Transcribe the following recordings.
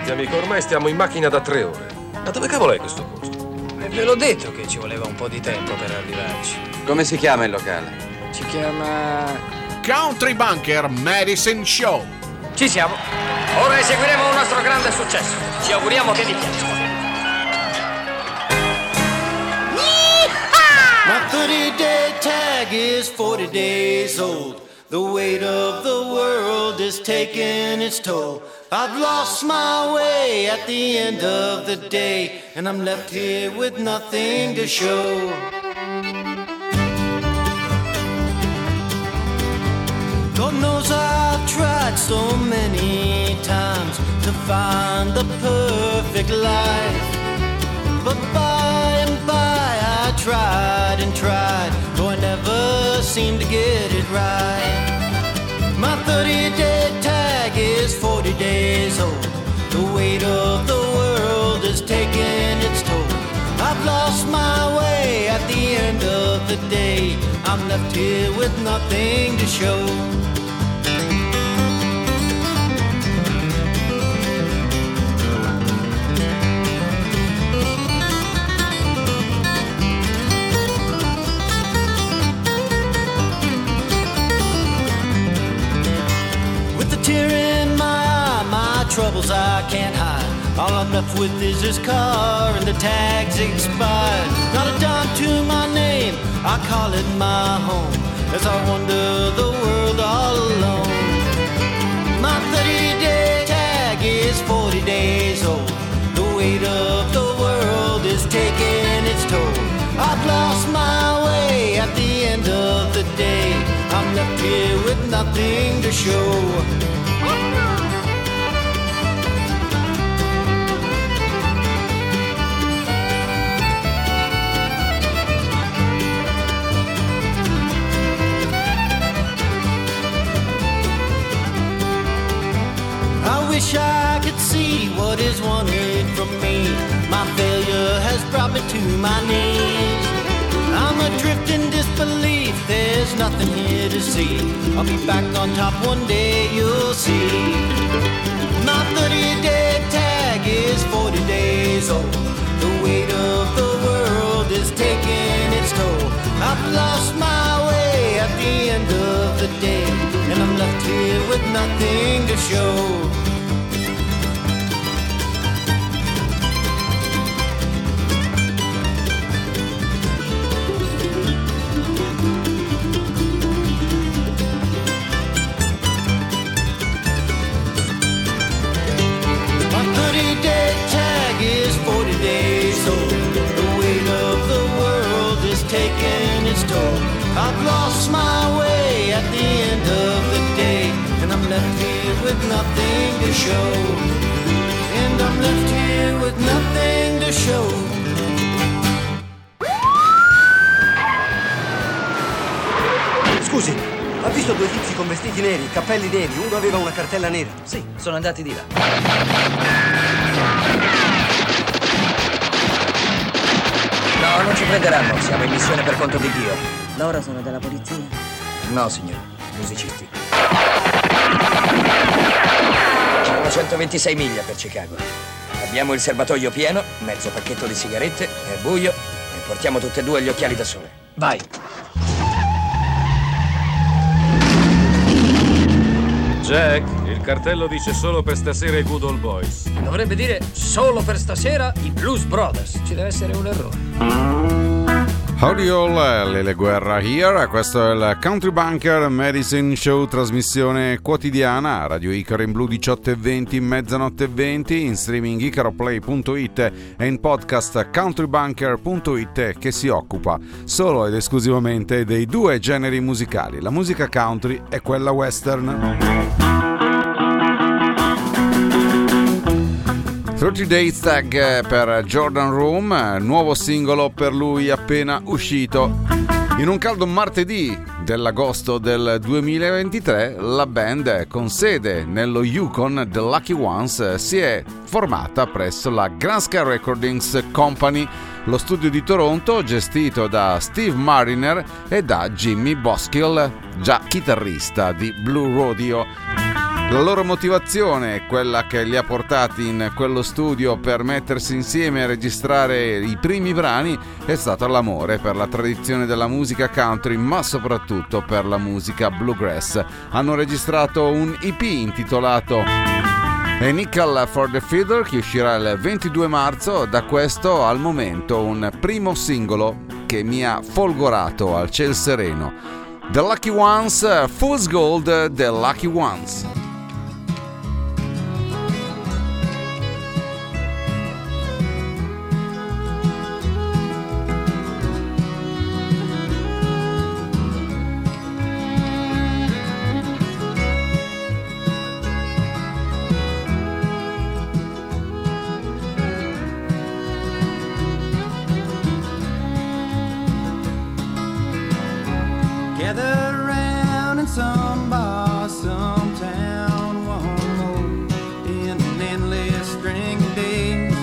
Senti amico, ormai stiamo in macchina da 3 ore. Ma dove cavolo è questo posto? Ve l'ho detto che ci voleva un po' di tempo per arrivarci. Come si chiama il locale? Si chiama... Country Bunker Medicine Show. Ci siamo. Ora eseguiremo un nostro grande successo. Ci auguriamo che vi piaccia. My 30-day tag is 40 days old. The weight of the world is taking its toll. I've lost my way at the end of the day, and I'm left here with nothing to show. God knows I've tried so many times to find the perfect life, but by and by I tried and tried, though I never seemed to get it right. My 30-day tag is 40 days old. The weight of the world is taking its toll. I've lost my way at the end of the day. I'm left here with nothing to show. Troubles I can't hide. All I'm left with is this car and the tag's expired. Not a dime to my name, I call it my home as I wander the world all alone. My 30-day tag is 40 days old. The weight of the world is taking its toll. I've lost my way at the end of the day. I'm left here with nothing to show. Wish I could see what is wanted from me. My failure has brought me to my knees. I'm adrift in disbelief, there's nothing here to see. I'll be back on top one day, you'll see. My 30-day tag is 40 days old. The weight of the world is taking its toll. I've lost my way at the end of the day, and I'm left here with nothing to show. Taking its toll. I've lost my way at the end of the day, and I'm left here with nothing to show. And I'm left here with nothing to show. Scusi, ha visto due tizi con vestiti neri, cappelli neri, uno aveva una cartella nera? Sì, sono andati di là. No, non ci prenderanno, siamo in missione per conto di Dio. Loro sono della polizia? No, signore, musicisti. Sono 126 miglia per Chicago. Abbiamo il serbatoio pieno, mezzo pacchetto di sigarette, è buio e portiamo tutte e due gli occhiali da sole. Vai! Jack, il cartello dice solo per stasera i Good Old Boys. Dovrebbe dire solo per stasera i Blues Brothers. Ci deve essere un errore. Howdy all, Lele Guerra here, questo è il Country Bunker Medicine Show, trasmissione quotidiana, Radio Icaro in blu 18:20, mezzanotte 20, in streaming icaroplay.it e in podcast countrybunker.it, che si occupa solo ed esclusivamente dei due generi musicali, la musica country e quella western. 30 Days Tag per Jordan Room, nuovo singolo per lui appena uscito. In un caldo martedì dell'agosto del 2023, la band con sede nello Yukon, The Lucky Ones, si è formata presso la Grand Sky Recordings Company, lo studio di Toronto gestito da Steve Mariner e da Jimmy Boskill, già chitarrista di Blue Rodeo. La loro motivazione, quella che li ha portati in quello studio per mettersi insieme e registrare i primi brani, è stata l'amore per la tradizione della musica country, ma soprattutto per la musica bluegrass. Hanno registrato un EP intitolato A Nickel for the Fiddler, che uscirà il 22 marzo. Da questo al momento un primo singolo che mi ha folgorato al ciel sereno. The Lucky Ones, Fool's Gold, The Lucky Ones. Gather around in some bar, some town, one more in an endless string of days.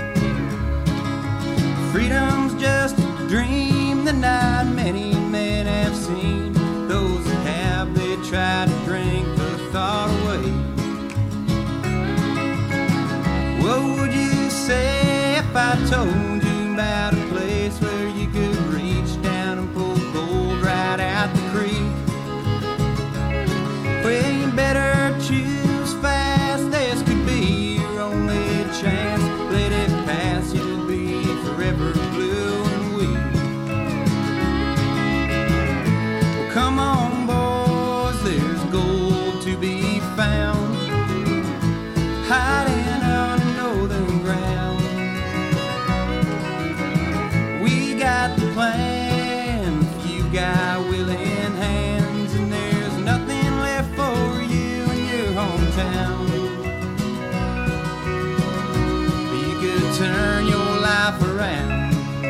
Freedom's just a dream that not many men have seen. Those that have, they try to drink the thought away. What would you say if I told you about a place where you could reach down and pull gold right out the creek? Well, you better choose fast. This could be your only chance. Let it pass, you'll be forever blue and weak. Well, come on, boys, there's gold to be found, hiding on northern ground. We got the plan, if you got willing hands, and there's nothing left for you in your hometown. You could turn your life around.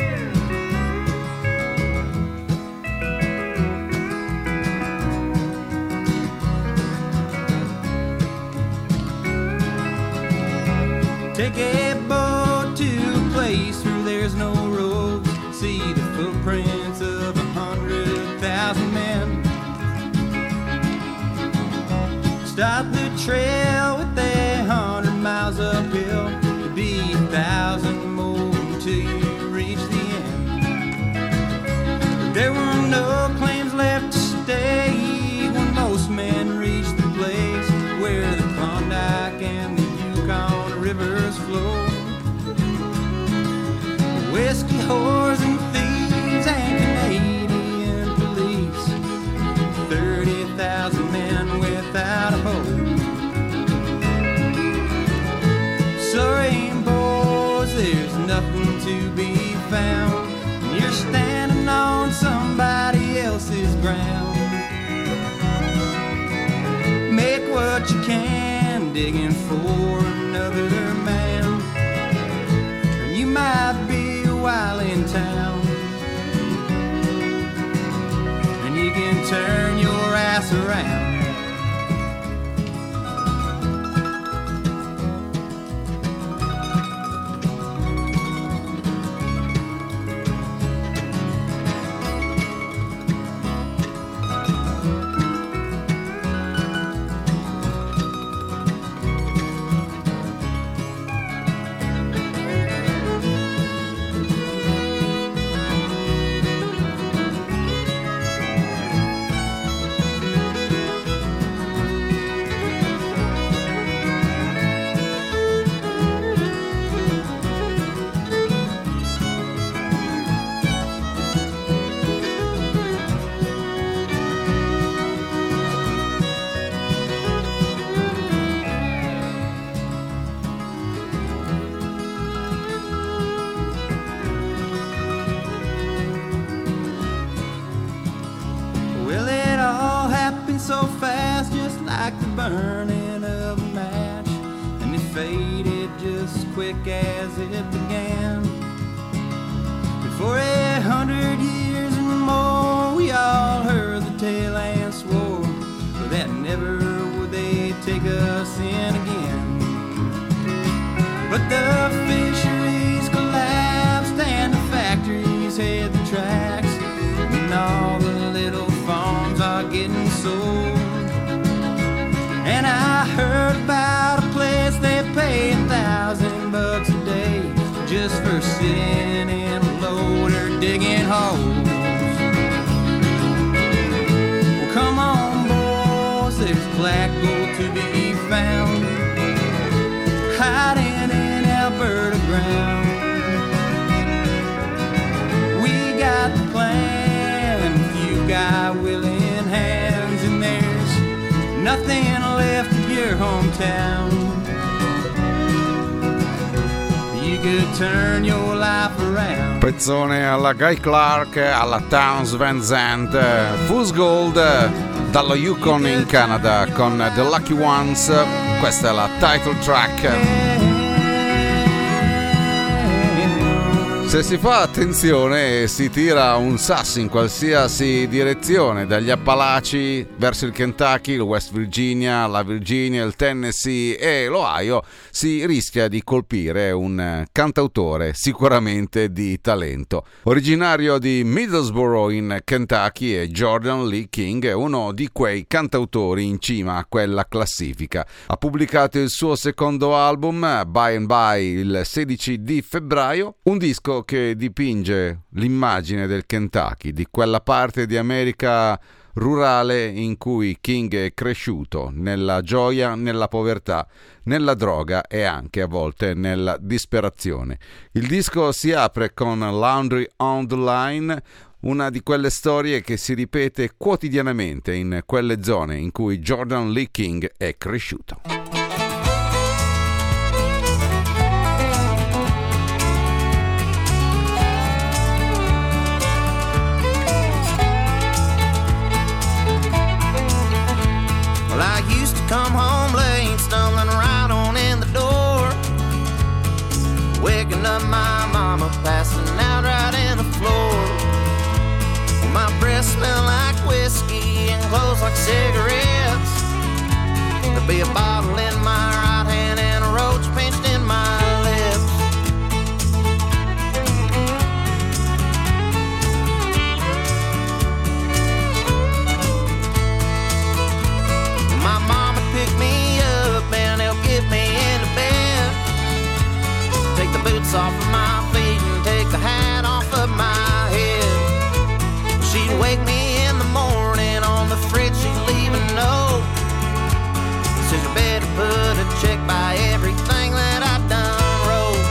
Take a boat to a place where there's no road. See the footprints of 100,000 men. Stop the trail with 100 miles uphill. It'll be 1,000 more until you reach the end. There were no claims left to stay when most men reached the place where the Klondike and the Yukon rivers flow. Whiskey whores and thieves and Canadian police, 30,000 men without a hope. Sorry, boys, there's nothing to be found. You're standing on somebody else's ground. Make what you can, digging for another man. You might be a while in town, and you can turn your ass around. So fast, just like the burning of a match, and it faded just as quick as it began. For 100 years and more, we all heard the tale and swore that never would they take us in again. But the fisheries collapsed and the factories had the tracks, and all the little farms are getting sold. And I fertile ground. We got the plan, you got willing hands, and there's nothing left of your hometown. You could turn your life around. Pezzone alla Guy Clark, alla Townes Van Zandt, Fool's Gold dallo Yukon in Canada con The Lucky Ones. Questa è la title track. Se si fa attenzione si tira un sasso in qualsiasi direzione, dagli Appalachi verso il Kentucky, il West Virginia, la Virginia, il Tennessee e l'Ohio, si rischia di colpire un cantautore sicuramente di talento. Originario di Middlesboro in Kentucky, è Jordan Lee King, è uno di quei cantautori in cima a quella classifica. Ha pubblicato il suo secondo album, By and By, il 16 di febbraio, un disco che dipinge l'immagine del Kentucky, di quella parte di America rurale in cui King è cresciuto, nella gioia, nella povertà, nella droga e anche a volte nella disperazione. Il disco si apre con Laundry on the Line, una di quelle storie che si ripete quotidianamente in quelle zone in cui Jordan Lee King è cresciuto. I used to come home late, stumbling right on in the door, waking up my mama, passing out right in the floor. My breath smelled like whiskey and clothes like cigarettes. There'd be a bottle in my right hand and a roach pinched in my lips. My mama picked me up and helped get me into bed. Take the boots off of my feet and take the hat off of my head. She'd wake me in the morning, on the fridge she'd leave a note. Says you better put a check by everything that I've done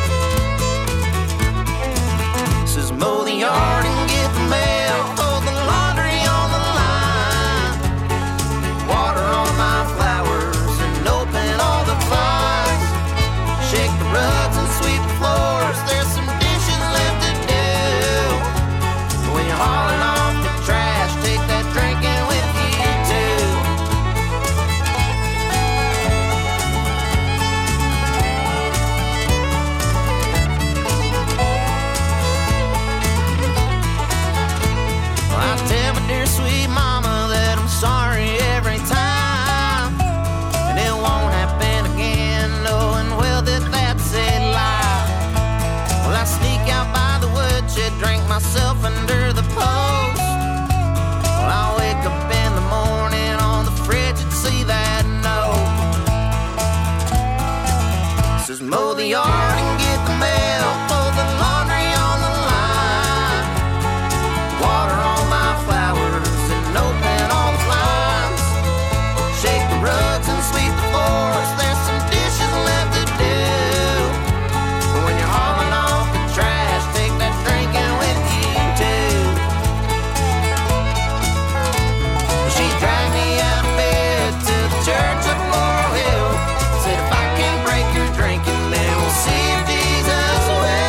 wrote. Says mow the yard and get the mail, fold the laundry on the line, water on my flowers and open all the blinds, shake the rugs and sweep the floors, there's some dishes left to do. When you're hauling off the trash, take that drinking with you too. Well, I tell my dear sweet mama that I'm sorry every time, and it won't happen again, knowing well that that's a lie. Well, I sneak out by the woodshed, drink myself under the post. Well, I wake up in the morning on the fridge and see that note. Says mow the yard and get the mail, fold the laundry on the line, water on my flowers and open all the blinds, shake the rugs and sweep the floors, there's some dishes left to do. But when you're hauling off the trash, take that drinking with you too. She dragged me out of bed to the church of Laurel Hill, said if I can't break your drinking, then we'll see if Jesus will.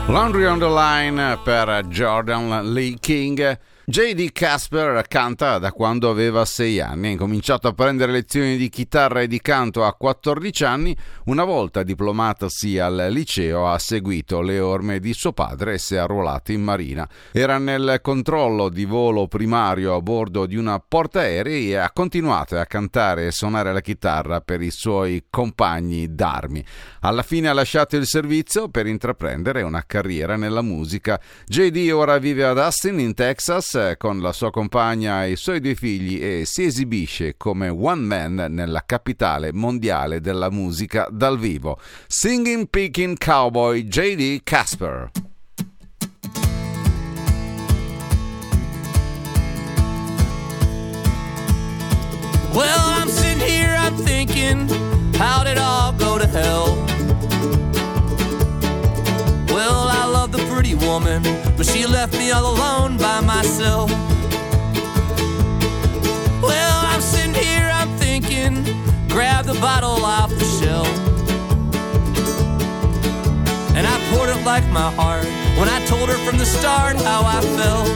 Laundry on the Line per Jordan Lee King. J.D. Casper canta da quando aveva 6 anni, ha incominciato a prendere lezioni di chitarra e di canto a 14 anni, una volta diplomatosi al liceo ha seguito le orme di suo padre e si è arruolato in marina. Era nel controllo di volo primario a bordo di una portaerei e ha continuato a cantare e suonare la chitarra per i suoi compagni d'armi. Alla fine ha lasciato il servizio per intraprendere una carriera nella musica. J.D. ora vive ad Austin, in Texas, con la sua compagna e i suoi 2 figli e si esibisce come one man nella capitale mondiale della musica dal vivo. Singing Picking Cowboy, J.D. Casper. Well, I'm sitting here, I'm thinking, how did it all go to hell? Well, I love the pretty woman, but she left me all alone by myself. Well, I'm sitting here, I'm thinking, grab the bottle off the shelf. And I poured it like my heart when I told her from the start how I felt.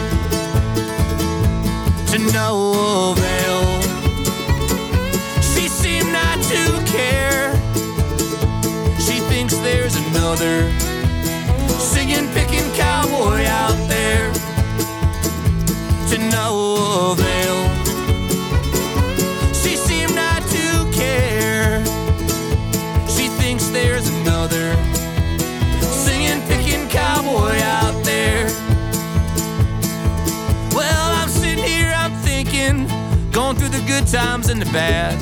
To no avail. She seemed not to care. She thinks there's another singing, picking cowboy out there. To no avail. She seemed not to care. She thinks there's another singing, picking cowboy out there. Well, I'm sitting here, I'm thinking, going through the good times and the bad.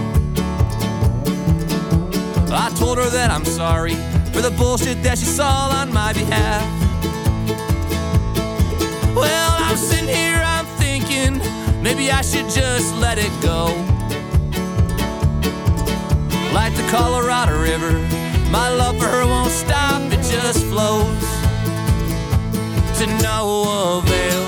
I told her that I'm sorry for the bullshit that she saw on my behalf. Well, I'm sitting here, I'm thinking, maybe I should just let it go. Like the Colorado River, my love for her won't stop, it just flows. To no avail.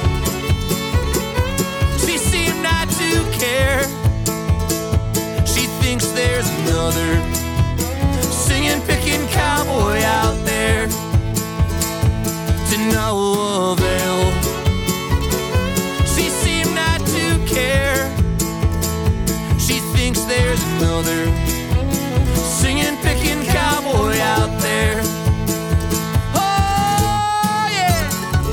She seemed not to care. She thinks there's another singing, picking cowboy out there. To no avail. She seemed not to care. She thinks there's another singing, picking cowboy out there. Oh yeah.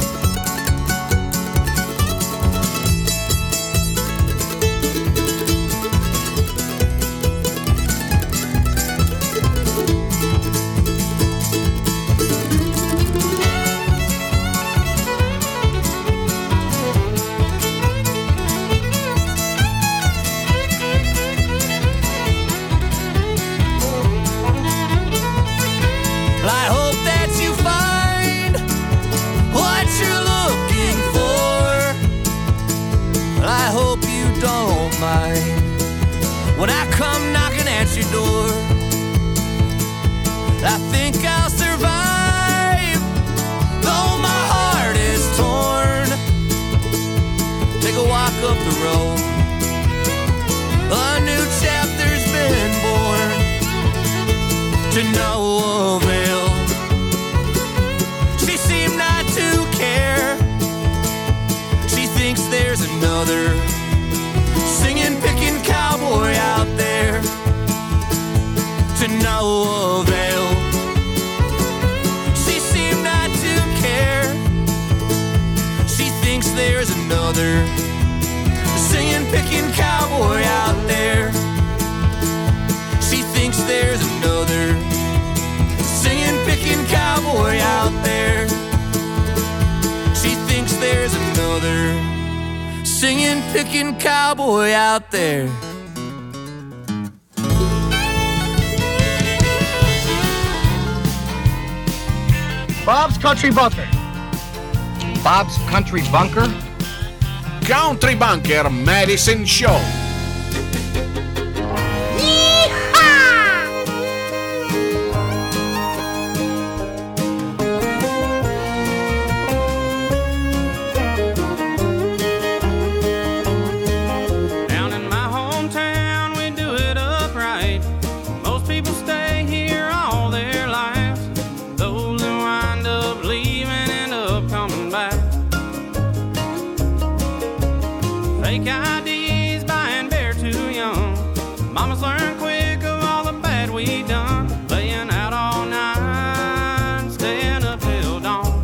I hope that you find what you're looking for. I hope you don't mind when I come knocking at your door. I think I'll survive, though my heart is torn. Take a walk up the road, a new chapter's been born. To no avail. She seemed not to care. She thinks there's another singing, picking cowboy out there. To no avail. She seemed not to care. She thinks there's another singing, picking cowboy out there. She thinks there's another singing, picking cowboy out there. She thinks there's another singing, picking cowboy out there. Bob's Country Bunker. Bob's Country Bunker? Country Bunker Medicine Show. Down in my hometown, we do it upright. Most people stay here all their lives. Those that wind up leaving Mama's learned quick of all the bad we done, laying out all night, staying up till dawn.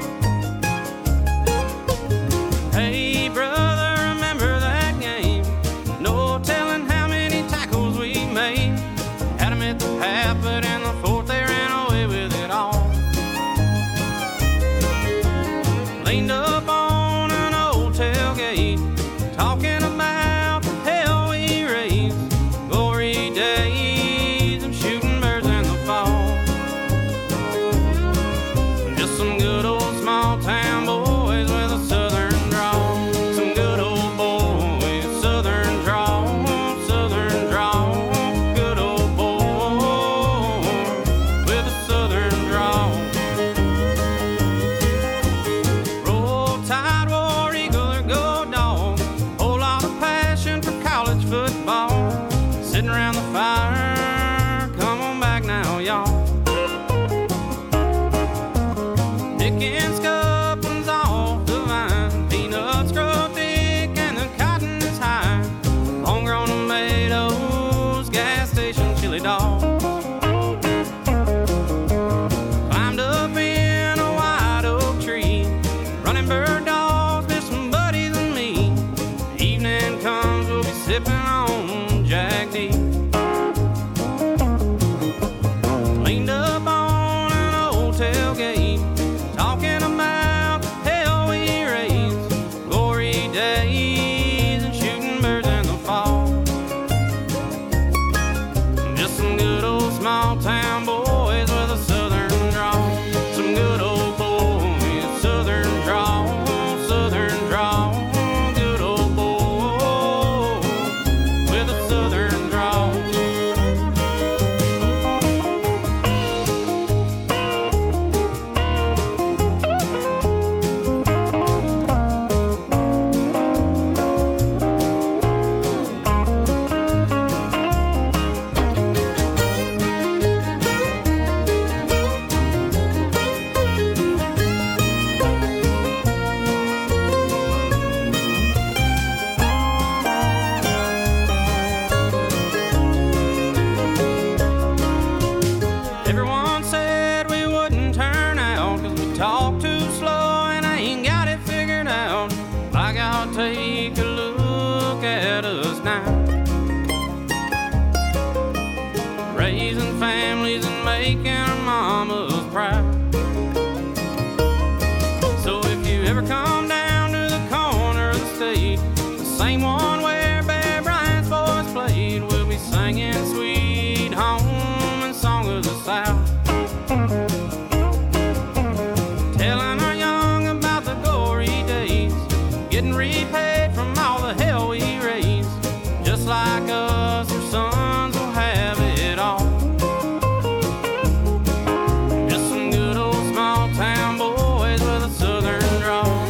Hey brother, remember that game? No telling how many tackles we made. Had 'em at the half, but in the fourth they ran away with it all. Leaned up on an old tailgate, talking about the hell we raised. Glory days of shooting birds in the fall. Just some good old small town boys with a southern drawl. Some good old boys, southern drawl, southern drawl. Good old boy with a southern drawl. Roll Tide, War Eagle, or go dog. Whole lot of passion for college football. Sitting around the fire, come on back now, y'all. Picking scuppings off the vine, peanuts grow thick and the cotton is high. Homegrown tomatoes, gas station chili dog. Climbed up in a white oak tree, running bird dogs, there's some buddies and me. Evening comes, we'll be sipping on Jack D. Leaned up on an old tailgate, talking about the hell we raised. Glory days and shooting birds in the fall. Just some good old small town boys with a southern drawl. Some good old boys, southern drawl, southern drawl. Good old boy with a southern drawl. Everyone said we wouldn't turn out 'cause we talk too slow and I ain't got it figured out. I gotta take a look at us now. Raising families and making our mamas proud. So if you ever come down to the corner of the state, the same one where Bear Bryant's voice played, we'll be singing Sweet Home and Song of the South. Telling our young about the glory days, getting repaid from all the hell we raised. Just like us, our sons will have it all. Just some good old small town boys with a southern drawl.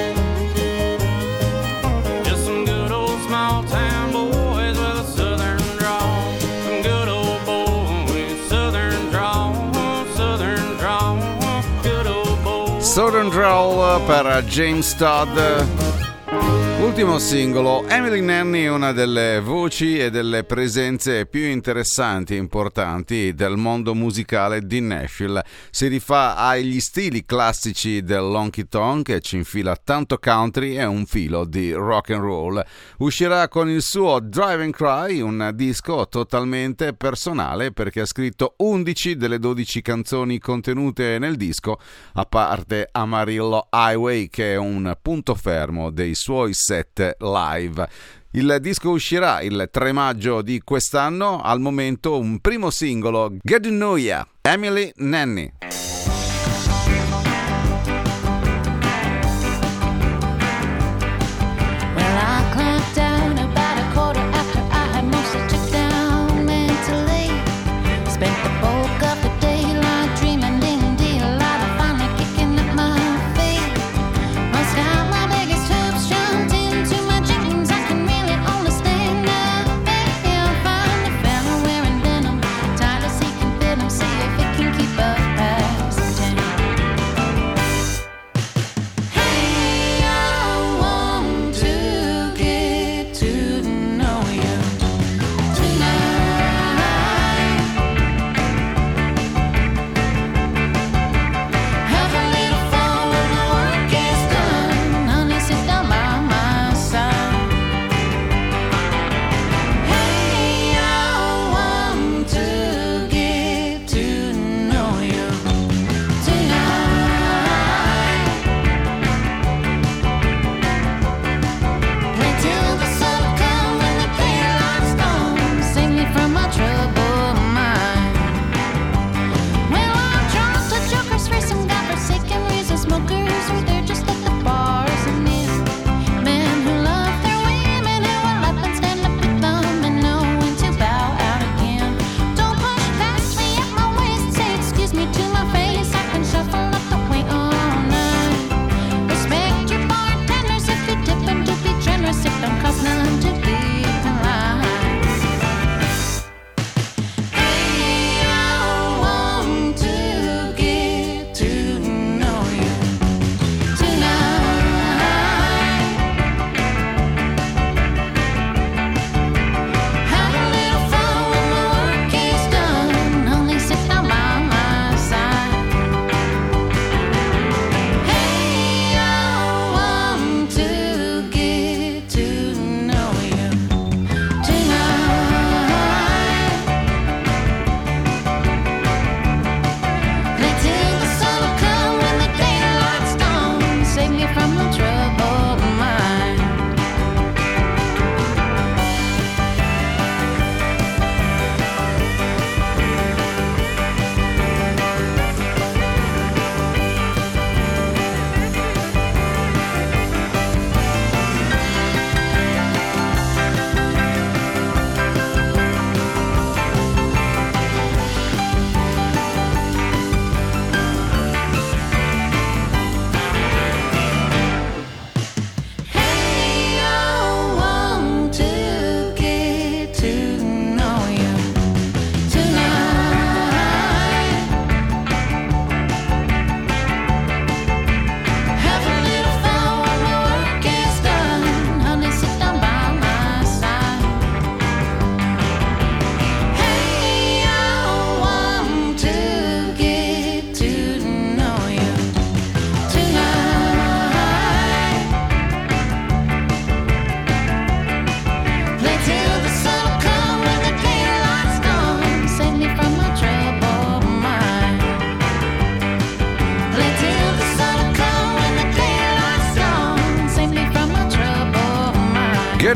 Just some good old small town boys with a southern drawl. Some good old boys, southern drawl, southern drawl. Good old boys. Southern Drawl per James Todd. Ultimo singolo. Emily Nanny è una delle voci e delle presenze più interessanti e importanti del mondo musicale di Nashville. Si rifà agli stili classici dell'honky tonk e ci infila tanto country e un filo di rock and roll. Uscirà con il suo Drive and Cry, un disco totalmente personale perché ha scritto 11 delle 12 canzoni contenute nel disco, a parte Amarillo Highway, che è un punto fermo dei suoi set live. Il disco uscirà il 3 maggio di quest'anno. Al momento un primo singolo, Get to Know Ya, Emily Nanny. Well, I clamped down about a quarter after I had mostly took down mentally. Spent the bulk of the daylight dreaming in delight of finally kicking up my feet. Must have my biggest hoops jumped into my jeans. I can really only stand up. I'll find a fella wearing denim, tireless he can fit him, see if it can keep up past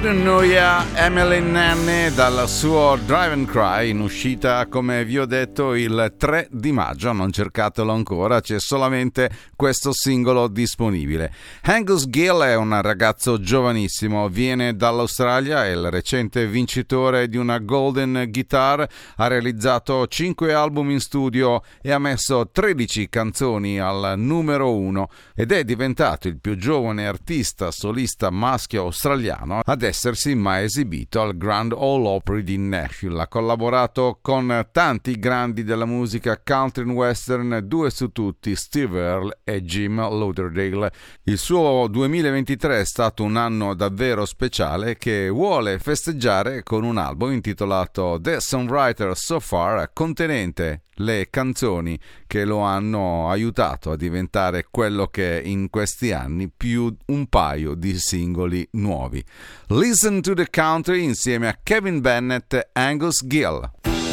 Couldn't Know Ya, Emily Nanny, dal suo Drive and Cry, in uscita, come vi ho detto, il 3 di maggio. Non cercatelo ancora, c'è solamente questo singolo disponibile. Angus Gill è un ragazzo giovanissimo, viene dall'Australia, è il recente vincitore di una Golden Guitar, ha realizzato 5 album in studio e ha messo 13 canzoni al numero 1 ed è diventato il più giovane artista solista maschio australiano ad essersi mai esibito al Grand Ole Opry di Nashville. Ha collaborato con tanti grandi della musica country and western, 2 su tutti, Steve Earle e Jim Lauderdale. Il suo 2023 è stato un anno davvero speciale che vuole festeggiare con un album intitolato The Songwriter So Far, contenente le canzoni che lo hanno aiutato a diventare quello che è in questi anni, più un paio di singoli nuovi. Listen to the Country insieme a Kevin Bennett e Angus Gill.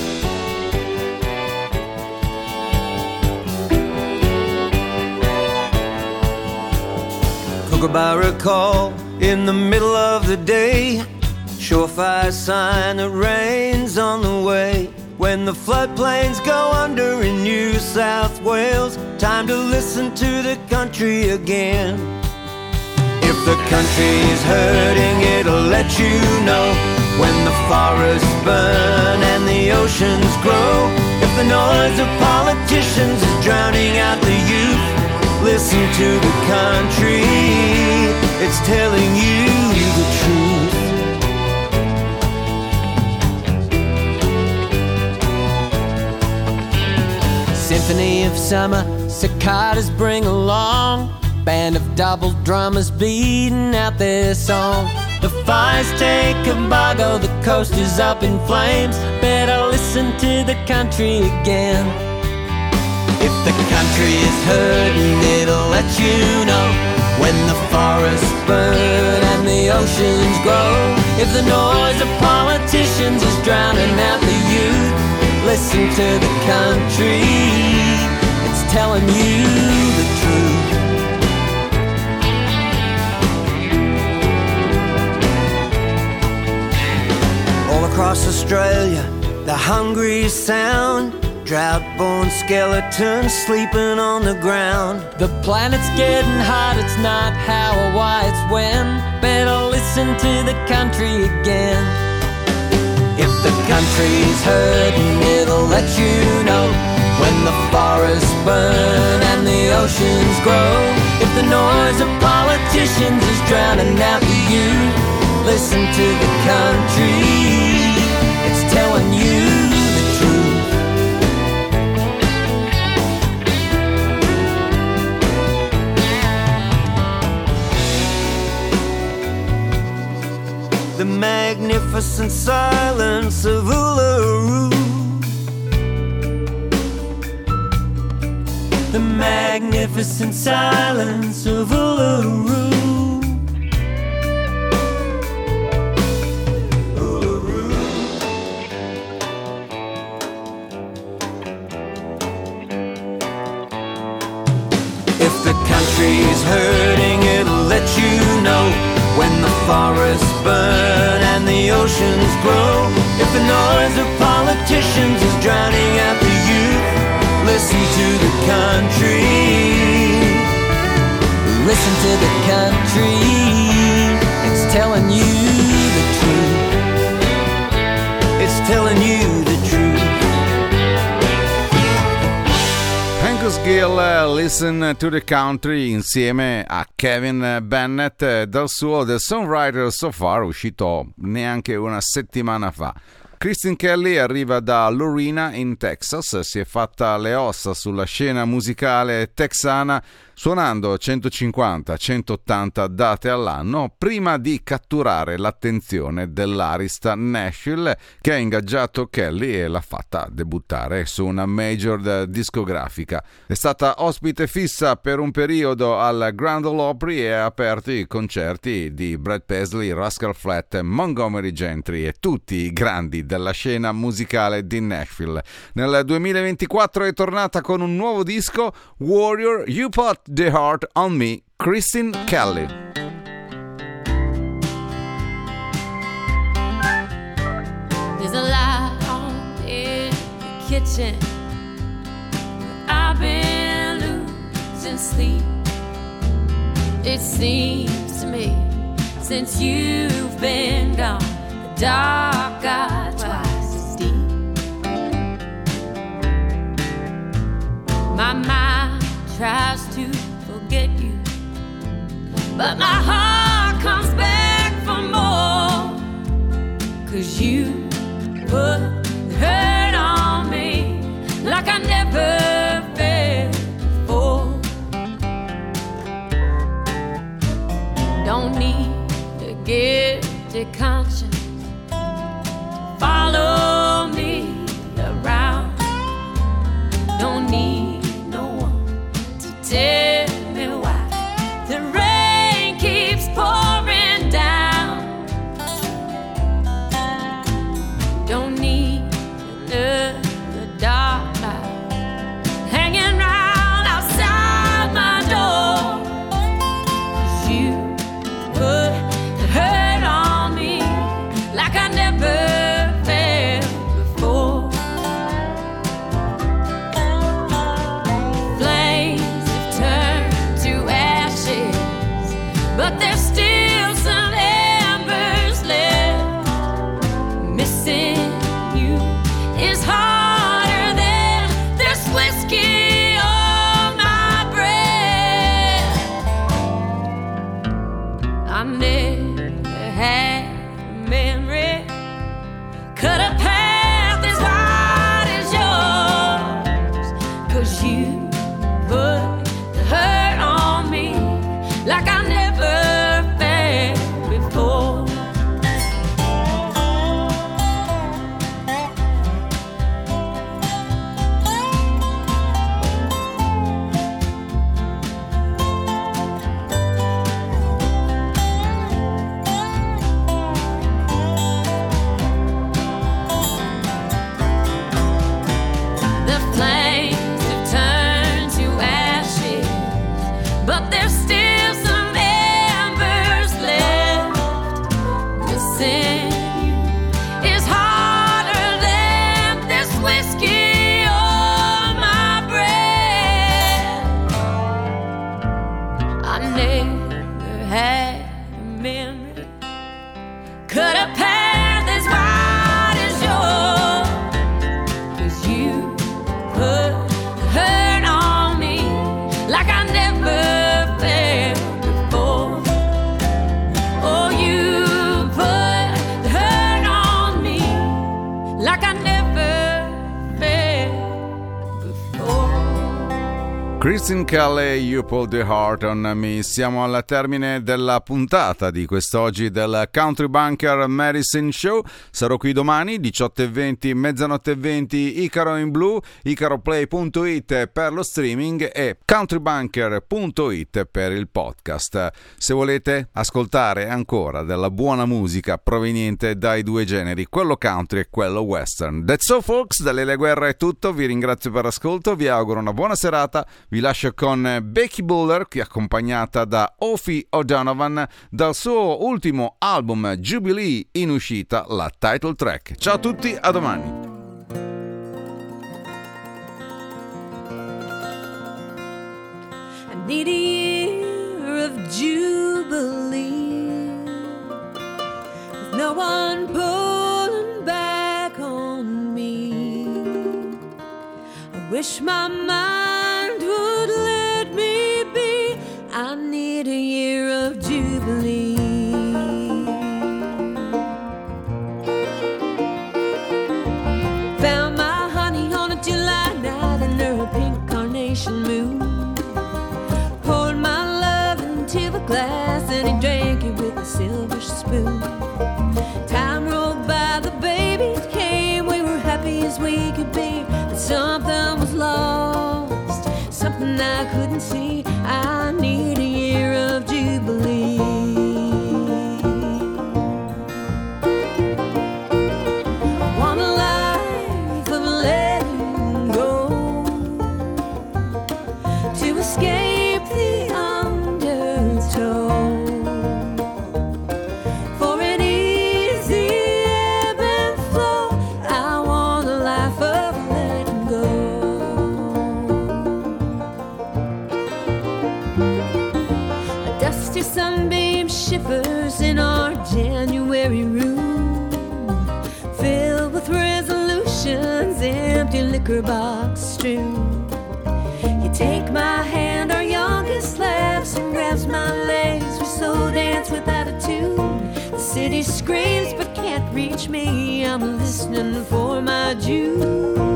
Kookaburra call in the middle of the day, surefire sign that rain's on the way. When the floodplains go under in New South Wales, time to listen to the country again. If the country's hurting, it'll let you know. When the forests burn and the oceans grow, if the noise of politicians is drowning out the youth, listen to the country, it's telling you the truth. Symphony of summer, cicadas bring along, band of double drummers beating out their song. The fires take embargo, the coast is up in flames, better listen to the country again. If the country is hurting, it'll let you know. When the forests burn and the oceans grow, if the noise of politicians is drowning out the youth, listen to the country, it's telling you the truth. All across Australia, the hungry sound, drought-born skeletons sleeping on the ground. The planet's getting hot, it's not how or why, it's when. Better listen to the country again. If the country's hurting, it'll let you know. When the forests burn and the oceans grow, if the noise of politicians is drowning out the youth, listen to the country, it's telling you the truth. The magnificent silence of Uluru, the magnificent silence of Uluru. Uluru. If the country's hurting, it'll let you know. When the forests burn and the oceans grow, if the noise of politicians is drowning out the youth, listen to the country, listen to the country, it's telling you the truth, it's telling you the truth. Angus Gill, Listen to the Country insieme a Kevin Bennett dal suo The Songwriter So Far, uscito neanche una settimana fa. Kristen Kelly arriva da Lorena in Texas, si è fatta le ossa sulla scena musicale texana suonando 150-180 date all'anno prima di catturare l'attenzione dell'arista Nashville, che ha ingaggiato Kelly e l'ha fatta debuttare su una major discografica. È stata ospite fissa per un periodo al Grand Ole Opry e ha aperto i concerti di Brad Paisley, Rascal Flatts, Montgomery Gentry e tutti i grandi della scena musicale di Nashville. Nel 2024 è tornata con un nuovo disco, Warrior, You Put the Heart on Me, Kristen Kelly. kitchen. I've been losing sleep. It seems to me since you've been gone, the dark got twice as deep. My mind tries to forget you, but my heart comes back for more. 'Cause you put the hurt on me like I never felt before. Don't need a guilty conscience to follow me around. Don't need no one to tell me why the rain keeps pouring down. Don't need another dark light hanging round outside my door. 'Cause you put the hurt on me like I never felt before. Flames have turned to ashes, but there's still some embers left. Missing you is harder than this whiskey on my breath. I never had a memory, cut a path as wide as yours. 'Cause you put the hurt on me like I never felt before. The flames have turned to ashes, but there's still some embers left. Missing you is harder than this whiskey on my breath. I never had a memory, cut a path as wide as yours. 'Cause you put the hurt on me like I never felt before. Oh, you put the hurt on me like I never felt before. Kristen Kelly, You Put the Heart on Me. Siamo al termine della puntata di quest'oggi del Country Bunker Medicine Show. Sarò qui domani 18:20, mezzanotte e 20, Icaro in Blu, icaroplay.it per lo streaming e countrybunker.it per il podcast. Se volete ascoltare ancora della buona musica proveniente dai due generi, quello country e quello western. That's all folks, da Lele Guerra è tutto, vi ringrazio per l'ascolto, vi auguro una buona serata, vi lascio con Becky Buller, che è accompagnata da Ophi O'Donovan, dal suo ultimo album Jubilee in uscita, la title track. Ciao a tutti, a domani. I need a year of jubilee, with no one pulling back on me. I wish my mind would let me be. I need a year of jubilee. Found my honey on a July night under a pink carnation moon. Poured my love into a glass and he drank it with a silver spoon. Time rolled by, the babies came, we were happy as we could be. But something was lost, something I couldn't see. I need a year of jubilee. I want a life of letting go, to escape the undertow. For empty liquor box strewn. You take my hand, our youngest laughs and grabs my legs. We so dance without a tune. The city screams but can't reach me. I'm listening for my Jubilee.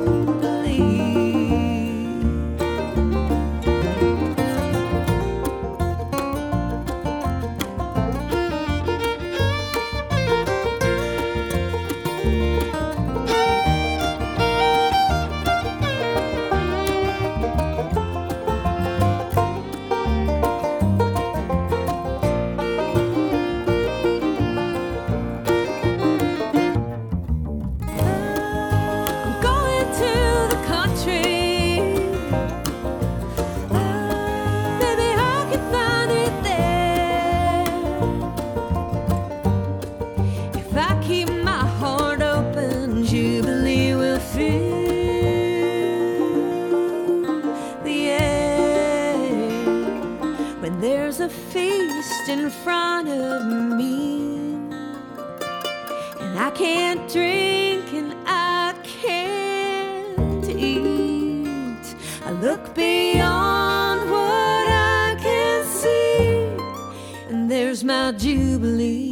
In front of me, and I can't drink and I can't eat. I look beyond what I can see, and there's my Jubilee.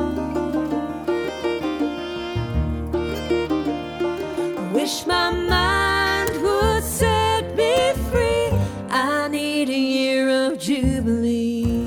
I wish my mind would set me free. I need a year of Jubilee.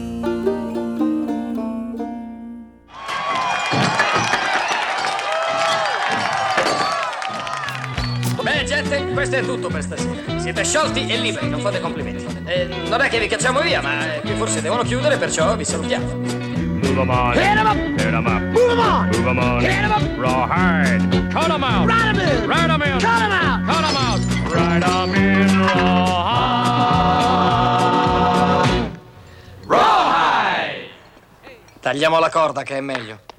Gente, questo è tutto per stasera. Siete sciolti e liberi, non fate complimenti. Non è che vi cacciamo via, ma qui forse devono chiudere, perciò vi salutiamo. Move 'em on. Hit 'em up. Hit 'em up. Move 'em on. Move 'em on. Hit 'em up. Rawhide. Cut 'em out. Ride 'em in. Ride 'em in. Cut 'em out. Cut 'em out. Ride 'em in. Rawhide. Rawhide. Tagliamo la corda che è meglio.